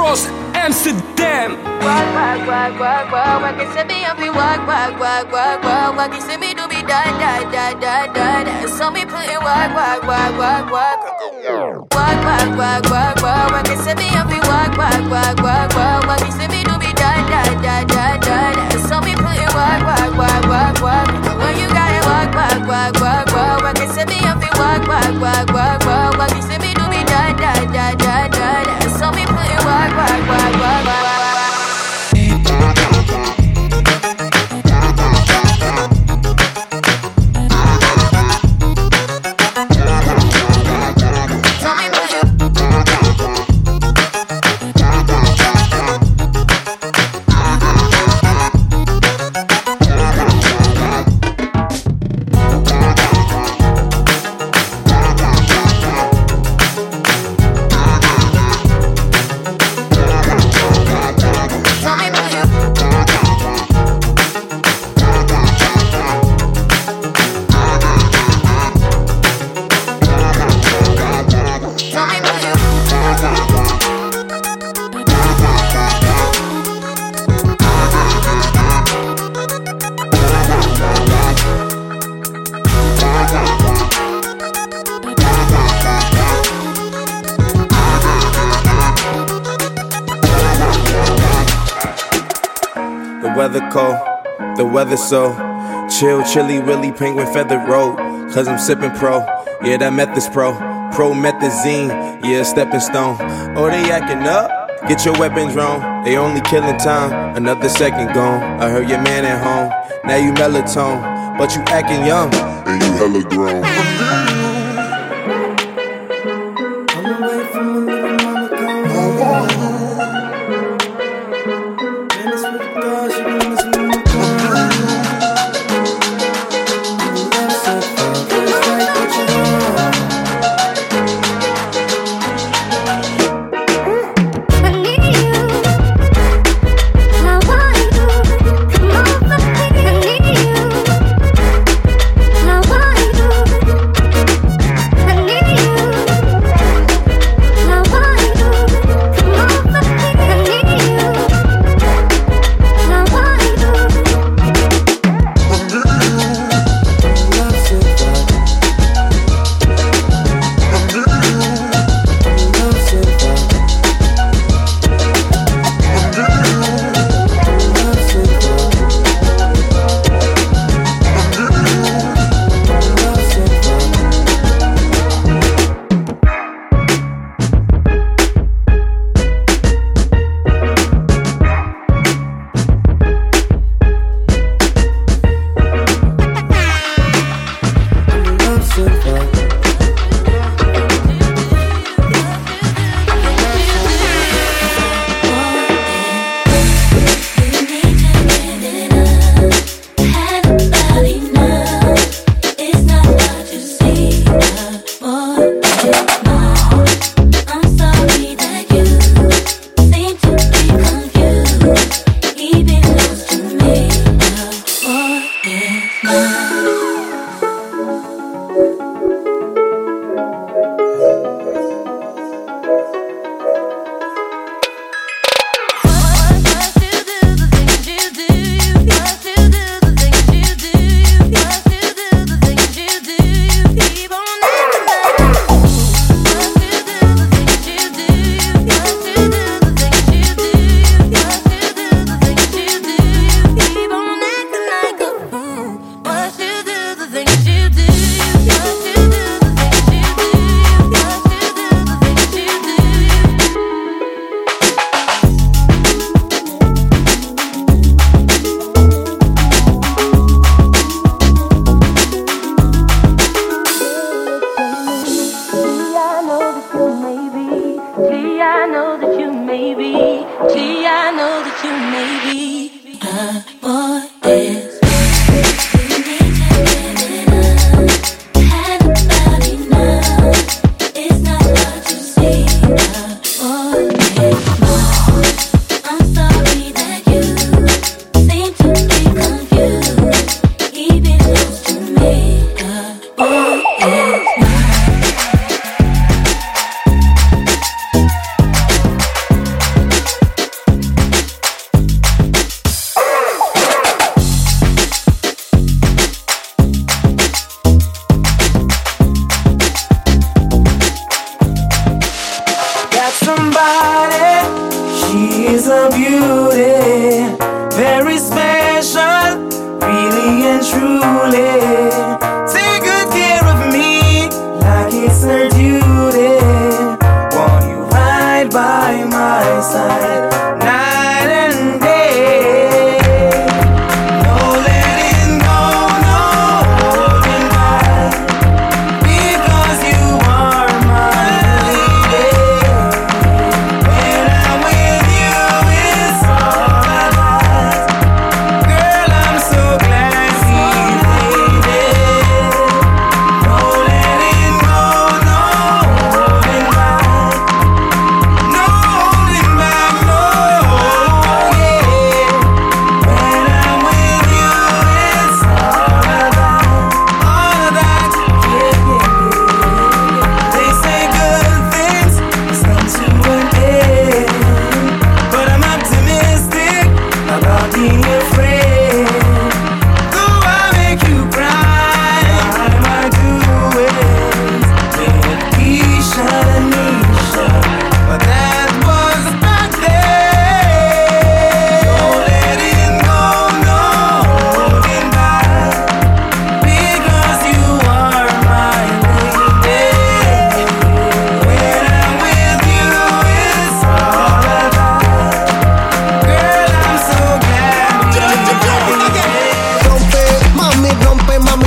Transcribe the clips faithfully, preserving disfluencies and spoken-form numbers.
Cross Amsterdam. Walk, walk, walk, walk, walk. Walk and send me up, walk, walk, walk, walk, walk. Walk and send me to be die, die, die, die, die, die. So me put in walk, walk, walk, walk, walk. Walk, walk, walk, walk, walk. Walk and send me up, walk, walk, walk, walk, walk. Walk and send me to be die, die, die, die, die, die. So me put in walk, walk, walk, walk, walk. When you got it, walk, walk, walk, walk, walk. Walk and send me up, walk, walk, walk, walk, walk. Walk and send me to be die, die, die, die, die, die. So me put in walk, walk, walk, walk, walk. Weather cold, the weather so chill, chilly, willy, penguin feather road. Cause I'm sipping pro, yeah, that method's pro. Promethazine, yeah, stepping stone. Oh, they acting up, get your weapons wrong. They only killing time, another second gone. I heard your man at home, now you melatonin, but you acting young, and you hella grown. I'm away from a little mama gone. I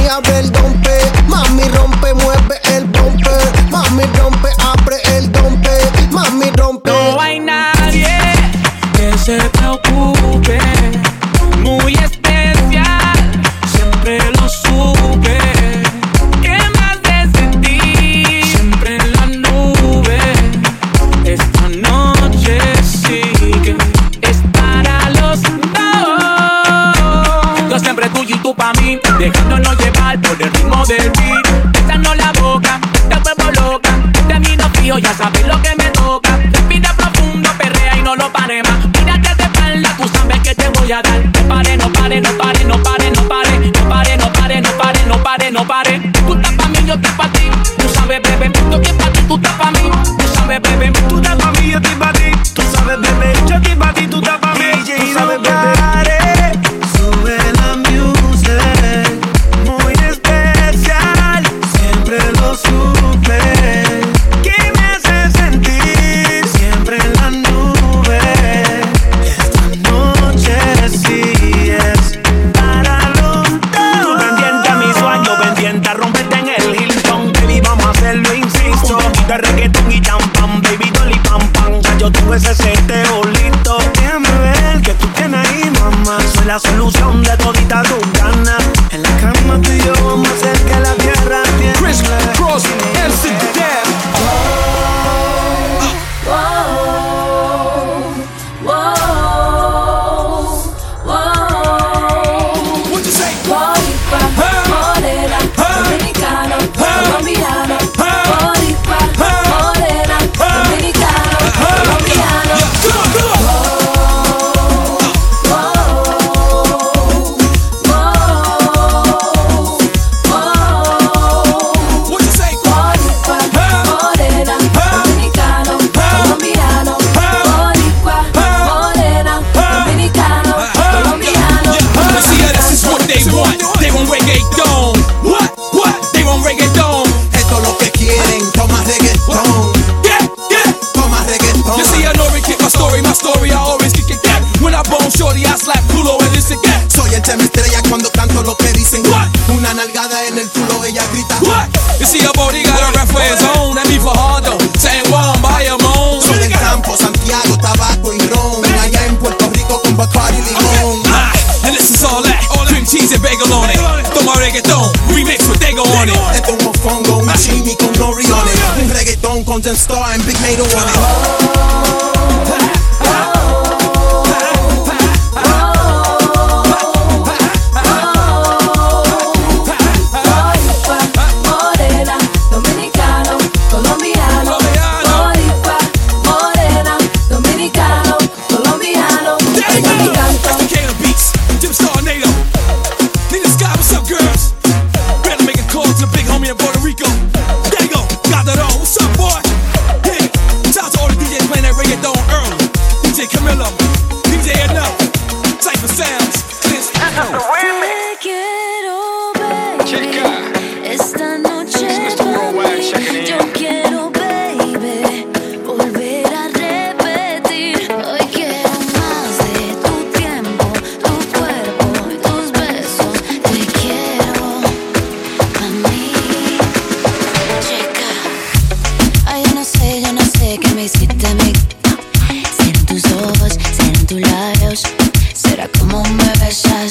mami, abre el dompe. Mami, rompe, mueve el bumper. Mami, rompe, abre el dompe. Mami, rompe. No hay nadie que se preocupe. Muy especial, siempre lo supe. ¿Qué más de sentir? Siempre en la nube. Esta noche sí que es para los dos. Yo siempre tuyo y tú pa' mí, dejándonos llevar por el ritmo del beat. Besando la boca, te vuelvo loca. De mí no fío, ya sabes lo que me toca. Respira profundo, perrea y no lo pare más. Mírate de espalda, tú sabes que te voy a dar. No pare, no pare, no pare, no pare, no pare. No pare, no pare, no pare, no pare, no pare. Tú estás pa' mí, yo estoy pa' ti. Tú sabes, bebé, yo estoy pa' ti, tú estás pa' mí. Tú sabes, bebé, tú estás pa' mí, yo estoy pa' ti. Tú sabes, bebé, yo estoy pa' ti, tú estás pa' mí. Tú sabes, bebé. Sube la music, muy especial, siempre lo supe. ¿Qué me hace sentir? Siempre en la nube. Esta noche sí es para los dos. Tú pendiente a mi sueño, pendiente a romperte en el Hilton. Baby, vamos a hacerlo, insisto. Un poquito de reggaetón y champán, baby, dolly pam pam. Ya yo tuve ese seteo listo. Déjame ver que tú tienes ahí, mamá. Soy la solución de todita tus ganas. En la cama tú y yo vamos a hacer que la tierra tiemble. Chris Cross, Amsterdam. What you say? Boricua, morena, dominicano, colombiano. Boricua, morena, dominicano, colombiano. What you say? Boricua, morena, dominicano, colombiano. Boricua, morena, dominicano, colombiano. You see, yeah, this is what they want. They want reggaeton. What? What? They want reggaeton. Esto es lo que quieren, toma reggaetón. Yeah, yeah. Toma reggaetón. You see, I know kick my story, my story, I always kick it back. When I bone shorty, I slap culo and listen back. Soy el tema estrella cuando canto lo que dicen. What? Una nalgada en el culo, ella grita. What? You see, a body got a ref for his own. And me for hardo, saying one by your moan. Soy del campo, Santiago, tabaco y ron. Allá en Puerto Rico con Bacardi y limón. Ah, and this is all that. Cream cheese and bagel on it. Toma reggaeton, remix with Dago on it. Esto es un mofongo, un chimi con nori on it. Un reggaetón con Ten Star and Big Nato on it. Boricua, morena, dominicano, colombiano. Boricua, morena, dominicano, colombiano. There you Ella me go. canta. That's the Kano Beats. Jim Star Nato. Nina Sky, what's up, girls? Better make a call to the big homie in Puerto Rico. There you go. Got that on. What's up, boy? Yeah. Shout out to all the D Js playing that reggaeton early. D J Camilo, D J Enough, Cypher Sounds. This Te quiero, baby. Esta noche pa' mí. Yo quiero, baby, volver a repetir. Hoy quiero más de tu tiempo, tu cuerpo y tus besos. Te quiero pa' mí. Chica, ay, yo no sé, yo no sé qué me hiciste a mí. Serán tus ojos, serán tus labios. Será como me besas.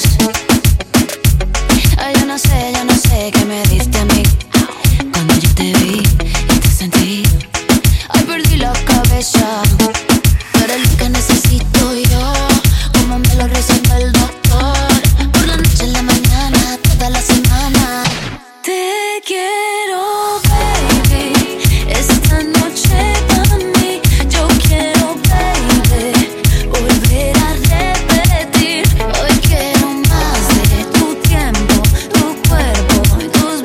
Ay, yo no sé, yo no sé qué me diste a mí. Cuando yo te vi y te sentí, ay, perdí la cabeza. Tú eres lo que necesito yo, como me lo receta el doctor. Por la noche, en la mañana, toda la semana. Te quiero, baby. Esta noche pa' mí. Yo quiero, baby, volver a repetir. Hoy quiero más de tu tiempo, tu cuerpo y tus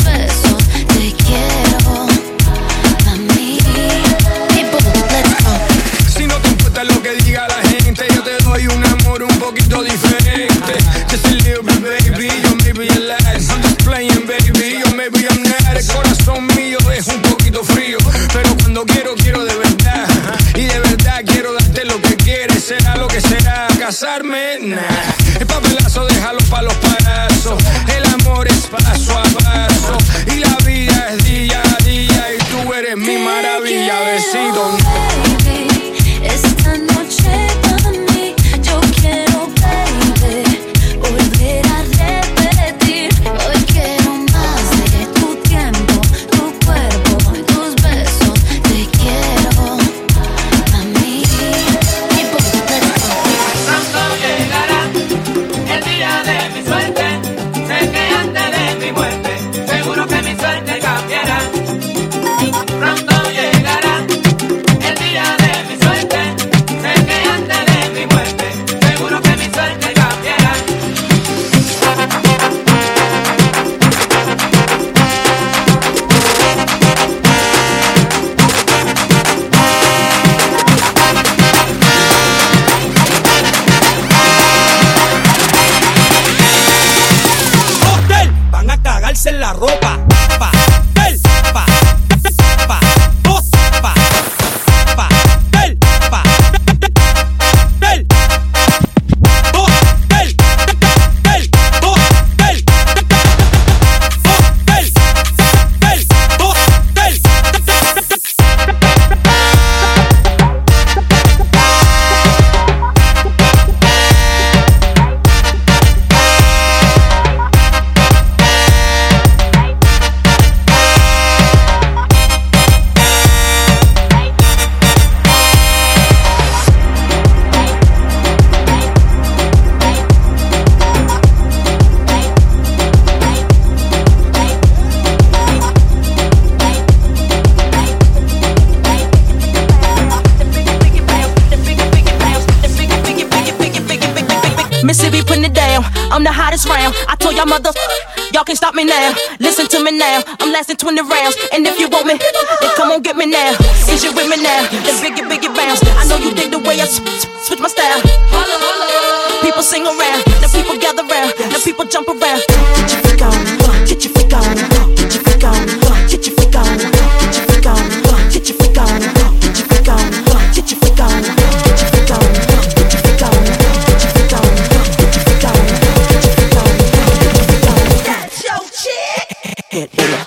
la ropa. Pa, el, pa, pa, dos, pa, pa, el, pa, el, dos, el, el, dos, el, dos, el, el, dos, el. Mississippi putting it down, I'm the hottest round. I told y'all mother, y'all can't stop me now. Listen to me now, I'm lasting twenty rounds. And if you want me, then come on get me now. Is you with me now? The biggie, biggie bounce. I know you dig the way I sw- sw- switch my style. People sing around, the people gather round, the people jump around. Get your freak on, get your freak on, get your freak on, get your freak on, get your freak on, get your freak on, get your freak on, get your freak on, get your freak on, get your freak on, get your freak on. That's your chick. Hit it.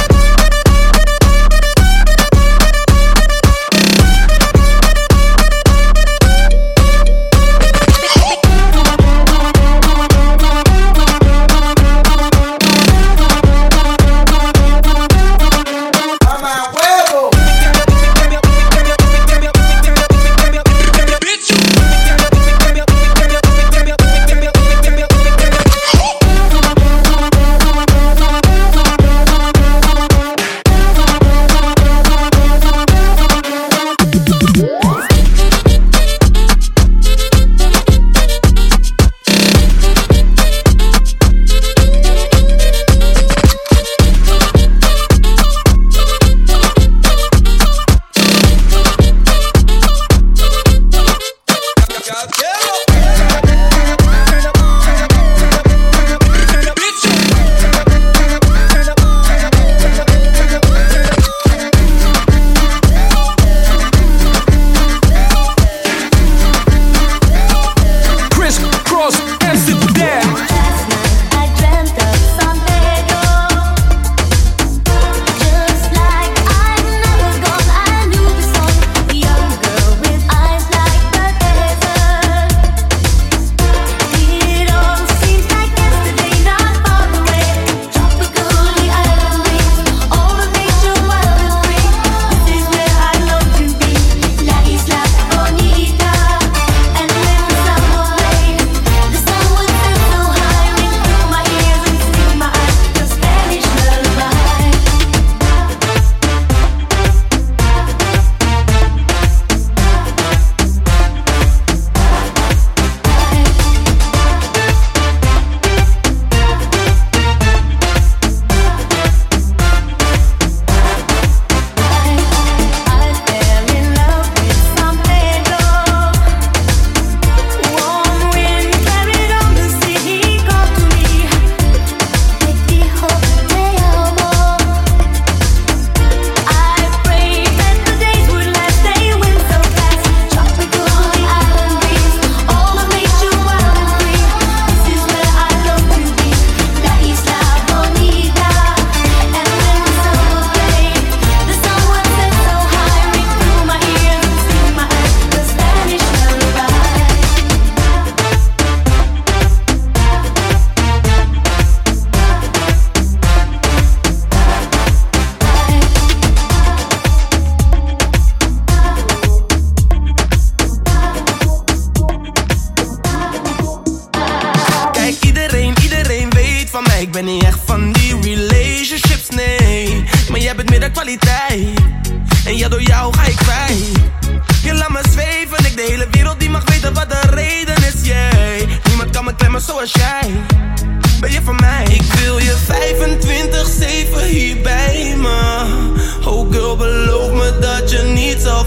ben niet echt van die relationships, nee. Maar jij bent meer dan kwaliteit. En ja, door jou ga ik kwijt. Je laat me zweven, ik de hele wereld die mag weten wat de reden is, yeah. Niemand kan me klemmen zoals jij. Ben je van mij? Ik wil je vijfentwintig zeven hier bij me. Oh girl, beloof me dat je niet zal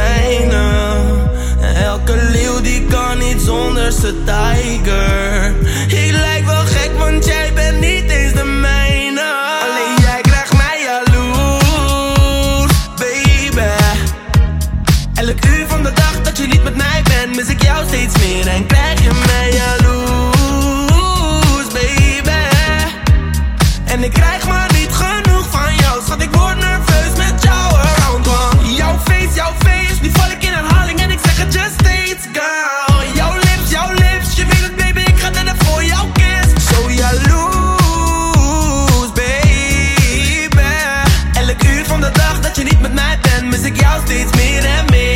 verdwijnen. Elke leeuw die kan niet zonder zijn tijger. Ik lijk wel gek, want jij bent niet eens de mijne. En ik krijg maar niet genoeg van jou. Schat, ik word nerveus met jou around one. Jouw face, jouw face, nu val ik in herhaling en ik zeg het just steeds, girl. Jouw lips, jouw lips, je weet het baby, ik ga er voor jouw kiss. Zo jaloers, baby. Elk uur van de dag dat je niet met mij bent, mis ik jou steeds meer en meer.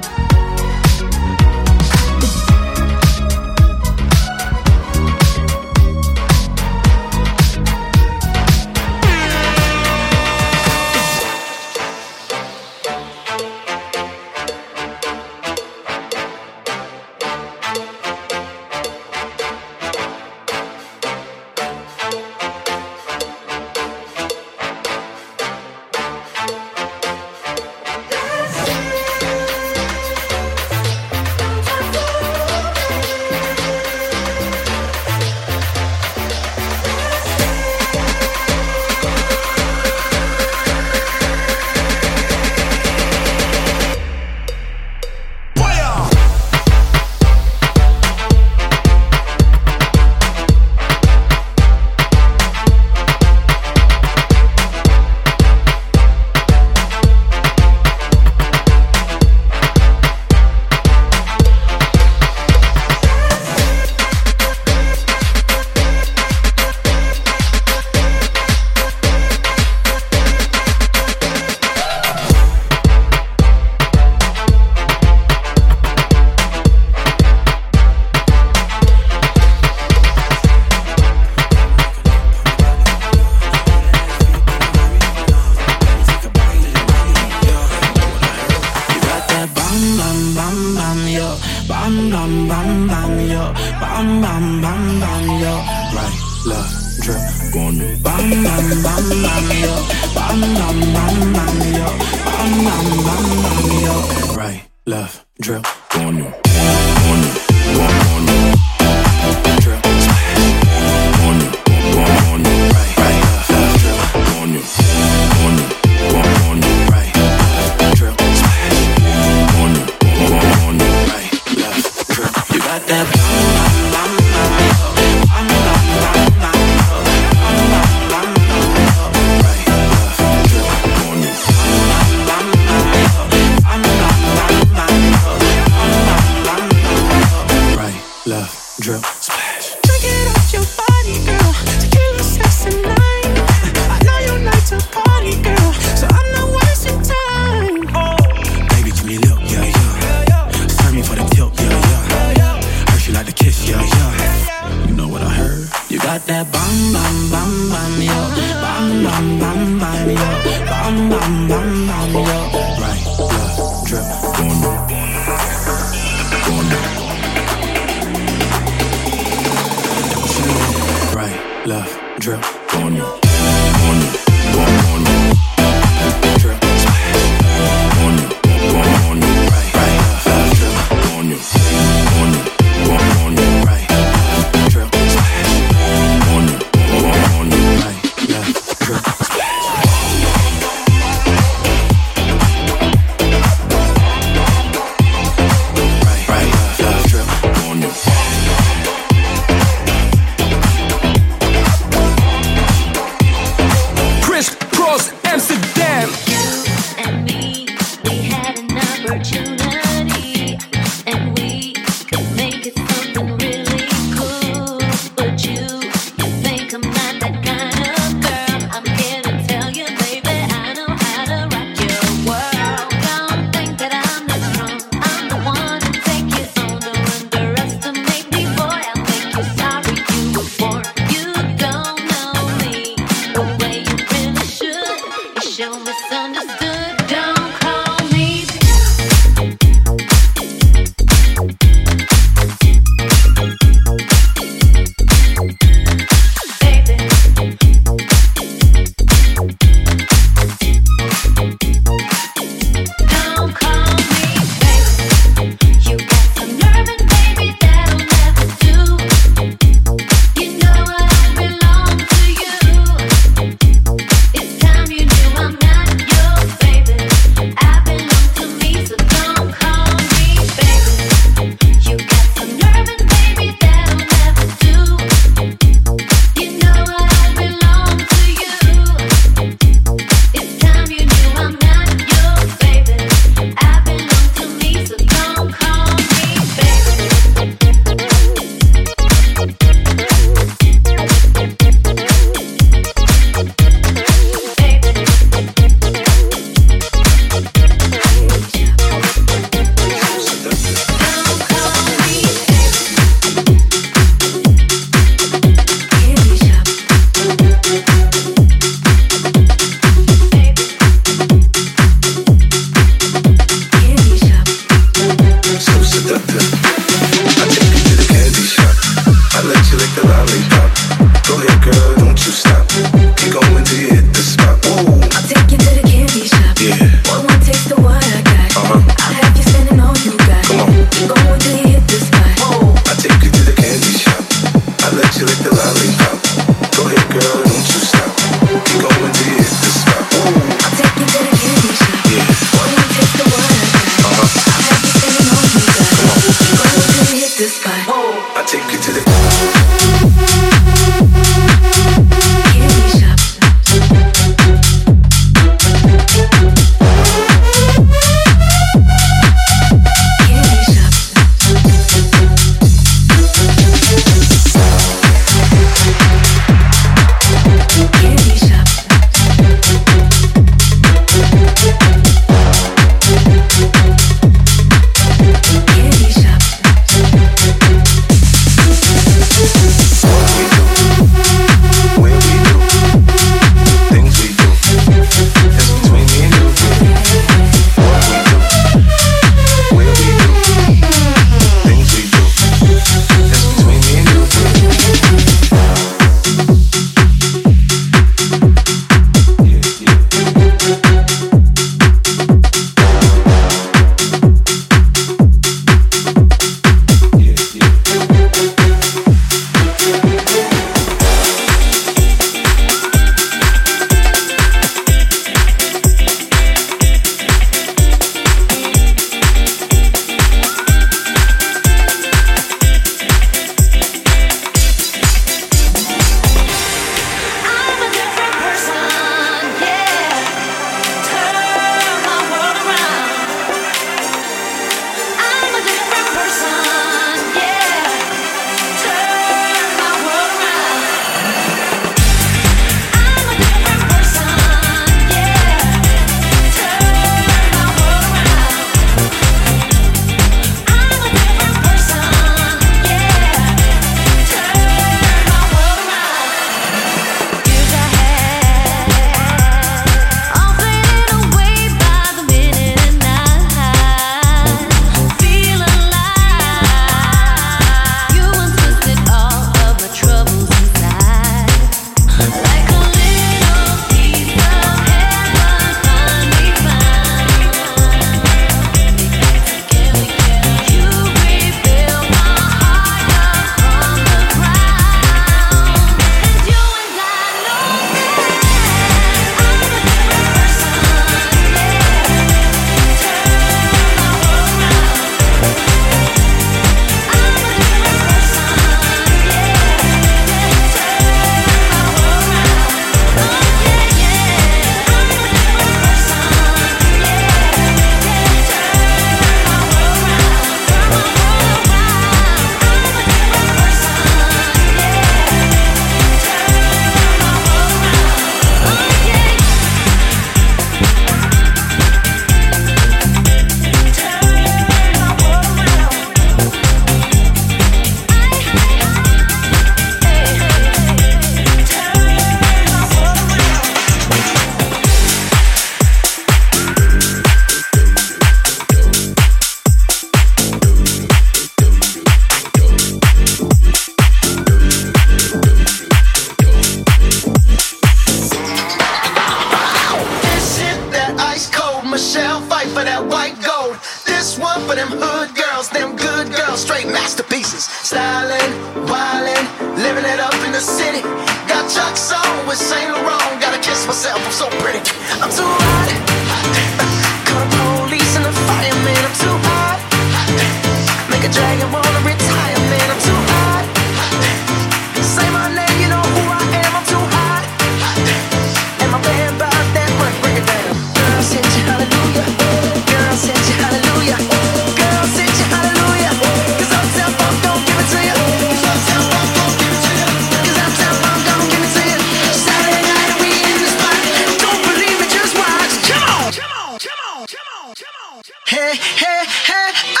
faces. Styling, wildin', living it up in the city. Got Chuck's on with Saint Laurent. Gotta kiss myself, I'm so pretty. I'm too hot. Call the police and the fireman. I'm too hot. Make a dragon wanna retire, man. I'm too hot. Say my name, you know who I am. I'm too hot. And my band about that work, bring it down. Girl, send you hallelujah. Girl, send you hallelujah. Girl, send you hallelujah. Cause Uptown Funk don't give it to you. Cause Uptown Funk don't give it to you. Cause Uptown Funk don't give it to you. Saturday night we in the spot. Don't believe it, just watch. Come on, come on, come on, come on, come on. Hey, hey, hey, ah.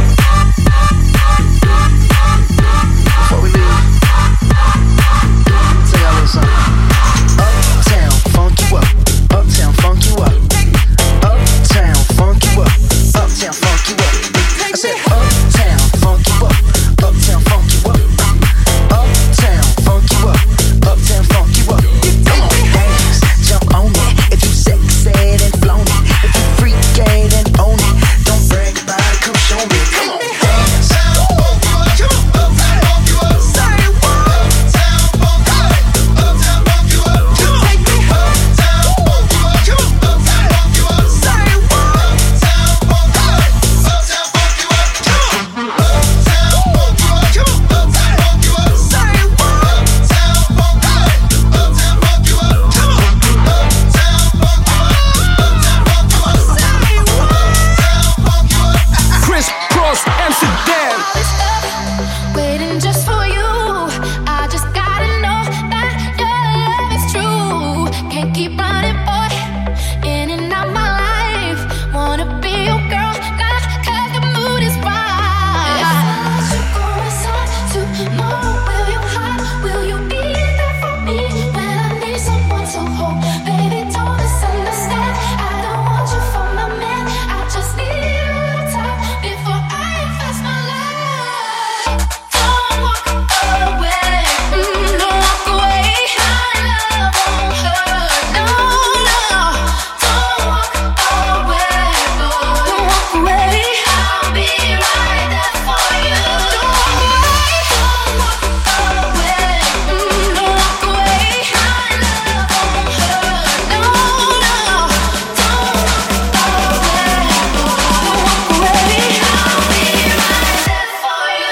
Before we leave, tell y'all a little something. Uptown funk you up. Uptown funk you up. Uptown funk you up. Uptown funk you up. I said uptown funk you up. Uptown funk you up. Uptown funk you up. Uptown funk you up. Come on, dance, jump on it. If you sexed and flown it, if you freaking and own it, don't brag about it. Come show me. Come on, dance. Waiting just for you. I just gotta know that your love is true. Can't keep running, boy, in and out my life. Wanna be your girl, nah, cause the mood is right. If I let you go inside tomorrow, will you hide? Will you be there for me when I need someone to hold? Baby, don't misunderstand. I don't want you for my man. I just need a little time before I invest my life. Don't walk away, mm, don't walk away. My love won't hurt, no, no. Don't walk away, boy, don't walk away. I'll be right there for you. Don't walk away, don't walk away, mm, don't walk away. My love won't hurt, no, no. Don't walk away, boy, don't walk away. I'll be right there for you.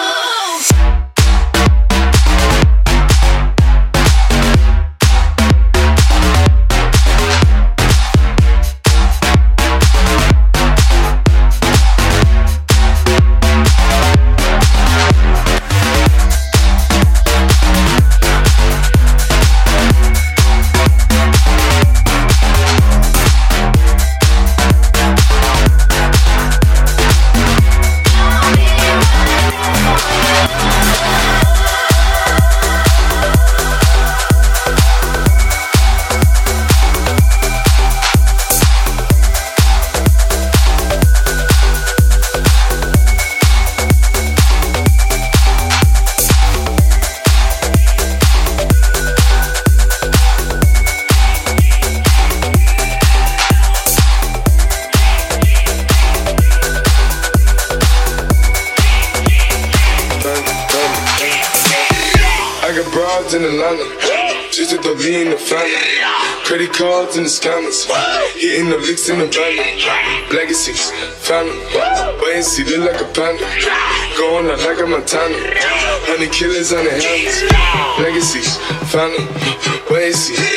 I got broads in Atlanta, just to throw me in the family. Credit cards in the scammers, hitting the licks in the van. Legacies, family, wait and see, look like a panda. Going out like a Montana, honey killers on the helmets. Legacies, family, wait and see,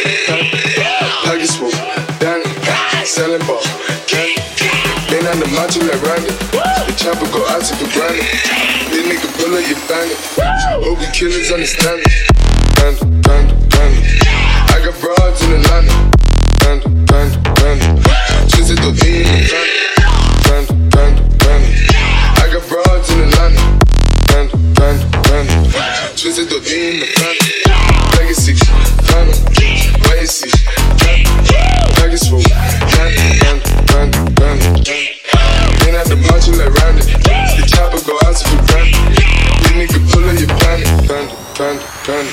pockets full, Danny, selling ball, candy. Ain't on the macho like Randy, the chopper go out to the granny. This nigga pull up your bandit, hope you killers understand it. Panda, panda, panda, I got broads in Atlanta. Panda, panda, panda, just at the V in the panda, panda, panda, I got broads in Atlanta. Panda, panda, panda, just at the V in the panda. Legacy, panda, wait and see, pockets full, panda, panda, panda, panda. Ain't at the macho like Randy, the chopper go out to the granny. This nigga pull up your bandit, panda, panda, panda.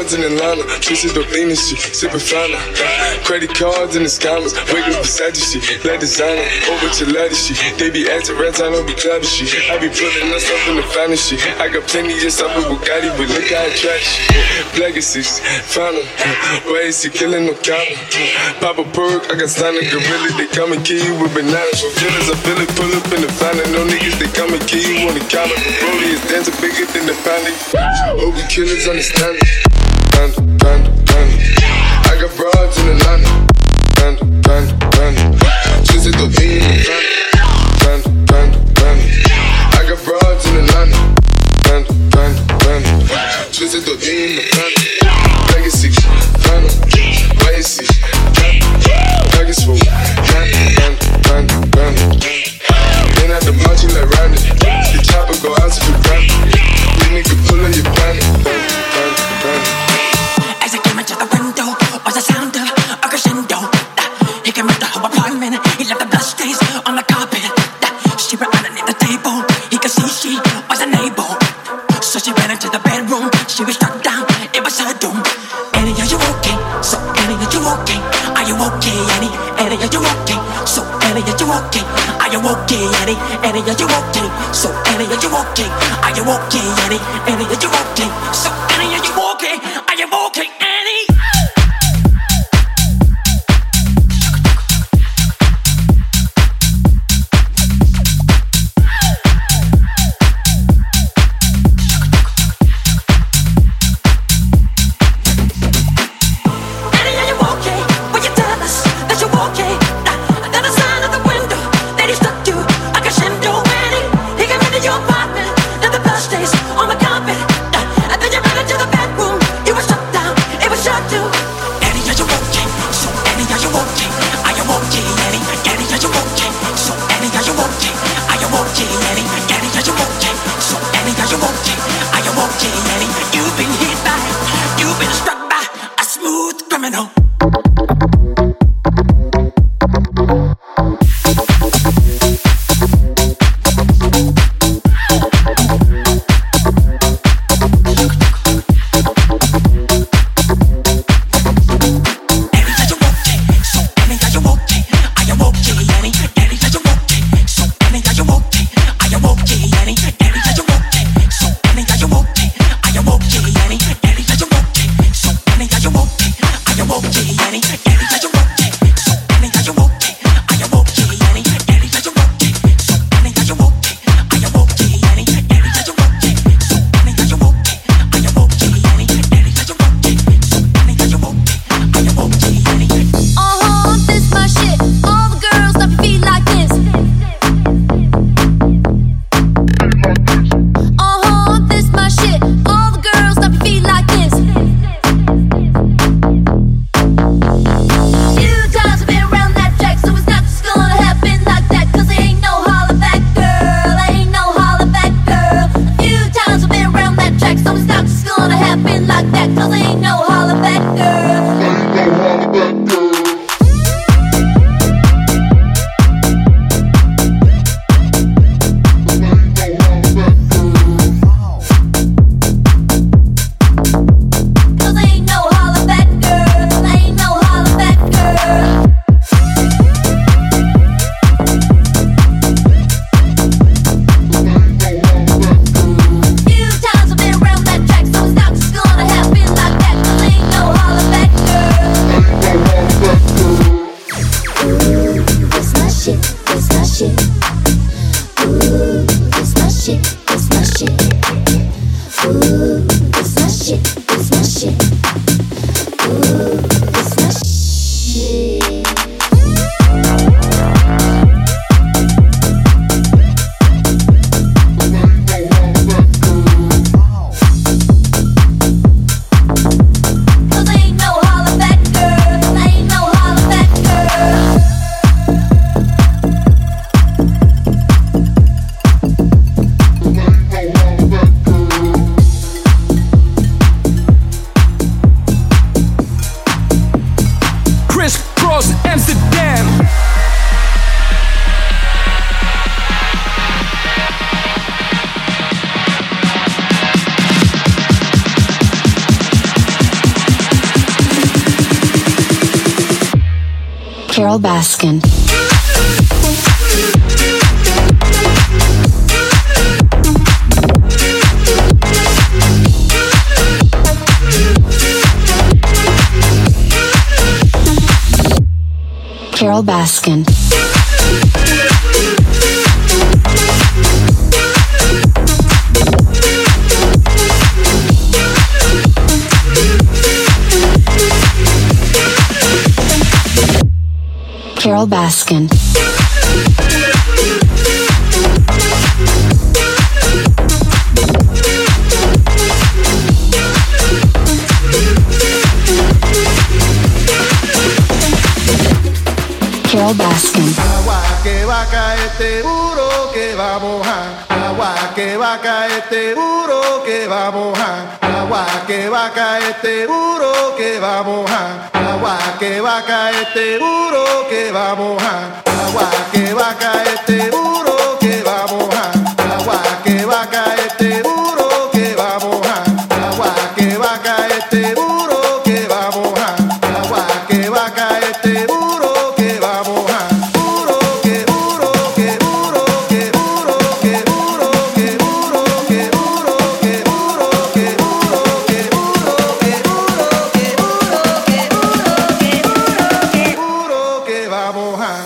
cards in Atlanta, twisted up lean and shit, sippin' flannel. Credit cards in the scammers, wake up beside you shit, like designer, over to ladder shit. They be acting rats, I don't be clapping shit. I be putting us up in the finest shit. I got plenty just up with Bugatti, but look how I trash shit. Legacies, final, why is he killing no counter? Pop a perk, I got signed a gorilla, they come and kill you with bananas. For killers, I feel it, pull up in the final. No niggas, they come and kill you on the counter. Broly is dancing bigger than the family. Obi killers understand it. Panda, panda, panda. I got broads in Atlanta. Panda, panda, panda. Twisted the beat in the panda, panda, panda. I got broads in Atlanta. Panda, panda, panda. Twisted the beat in the panda. Legacy, final, legacy. Nuggets full, panda, panda, panda. Then at the march, you like Randy. The chopper go out to the ground. You nigga pull on your planet. As I came into the window, was the sound of a crescendo. He came into her apartment, he left the blood stains on the carpet. She ran underneath the table, he could see she was unable. So she ran into the bedroom, she was struck down, it was her doom. Annie, are you okay? So Annie, are you okay? Are you okay, Annie? Annie, are you okay? So Annie, are you okay? Are you okay, Annie? Annie, are you okay? So Annie, are you okay? Are you okay, Annie? Annie, are you okay? So Annie, are you okay? Are you okay, Annie? So Carol Baskin. Carol Baskin. Carol Baskin. Carol Baskin. Agua que va a caer seguro que va a mojar. Agua que va a caer seguro que va a mojar. Agua que va a caer seguro que va a mojar. Agua que va a caer seguro que va a mojar. Agua que va a caer seguro que va a mojar. Agua que va a caer seguro que va a mojar. Agua que va a caer seguro que va a mojar. Agua que va a caer seguro que va a mojar. Duro que duro que duro que duro que duro que duro que duro que duro que duro que duro que duro que duro que duro que duro que va a mojar.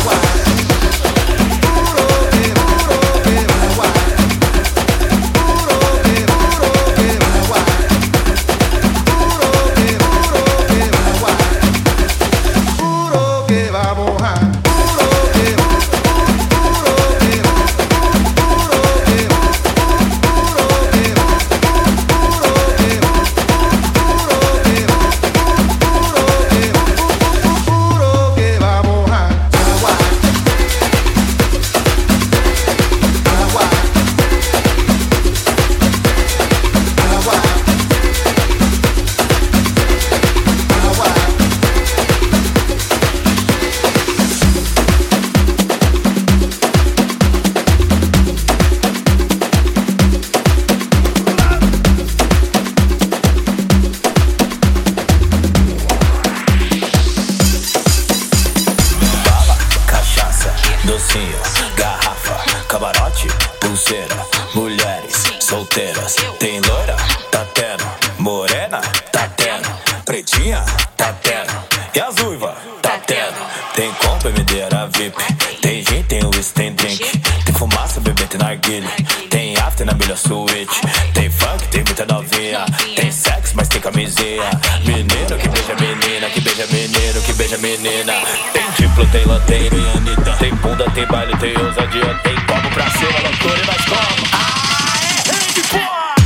Tem lanteiro e Anitta. Tem bunda, tem baile, tem ousadia. Tem como pra cima, loucura e nós como. Ah, é rede, porra!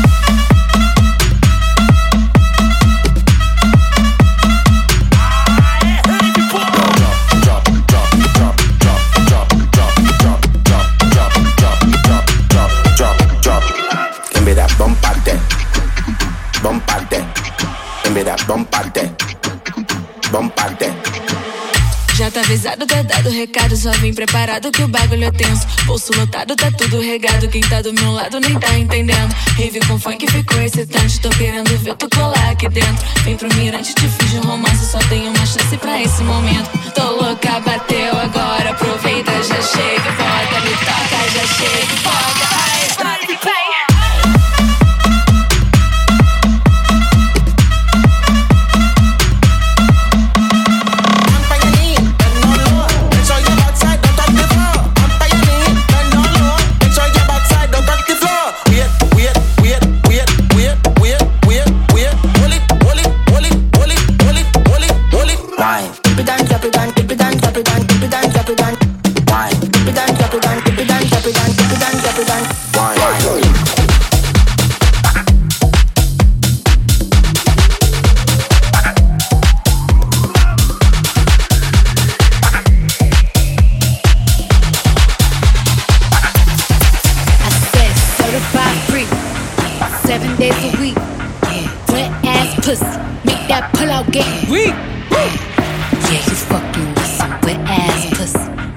Ah, é rede, porra! Drop, drop, drop, drop, drop, drop, drop, drop, drop, drop, drop, drop, drop, drop. Give me that bump out there. Bump out there. Give me that bump out there. Bump out there. Já tá avisado, tá dado recado, só vim preparado que o bagulho é tenso. Bolso lotado, tá tudo regado, quem tá do meu lado nem tá entendendo. Rave com funk ficou excitante, tô querendo ver tu colar aqui dentro. Vem pro mirante, te fiz um romance, só tenho uma chance pra esse momento. Tô louca, bateu agora, aproveita, já chega, bota, me toca, já chega, bota, ai, vai, vai.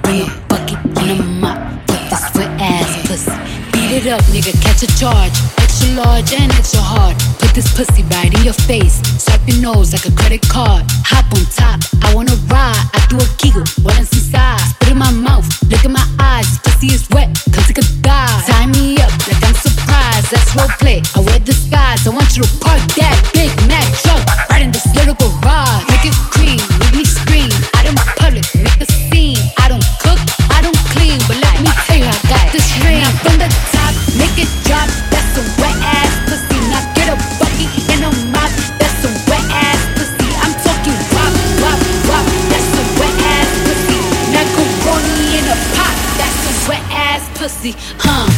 Up, nigga, catch a charge. Extra large and extra hard. Put this pussy right in your face. Swipe your nose like a credit card. Hop on top, I wanna ride. I do a giggle, what is inside? Spit in my mouth, look in my eyes. Pussy is wet, come take a dive. Tie me up like I'm surprised. That's roleplay, I wear disguise. I want you to park that Big Mac truck right in this little garage. Make it cream, make me scream. Out in public, make a scene. I don't cook, I don't clean, but let me tell you, I got this ring. Now from the top, make it drop. That's some wet ass pussy. Now get a bucket and a mop. That's some wet ass pussy. I'm talking wop, wop, wop. That's some wet ass pussy. Macaroni in a pot. That's some wet ass pussy, huh?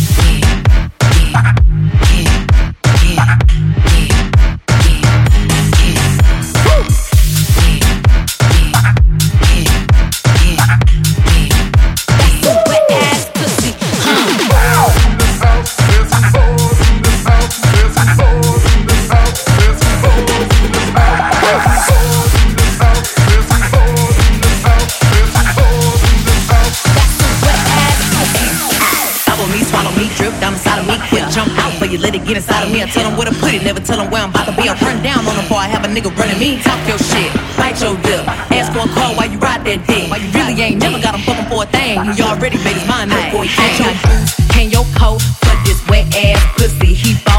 Let it get inside of me. I tell them where to put it, never tell them where I'm about to be. I run down on the bar, I have a nigga running me. Talk your shit, bite your lip. Ask for a call while you ride that dick. Why you really ain't never got him fucking for a thing. He already made his mind up before he came. Can your coat for this wet ass pussy? He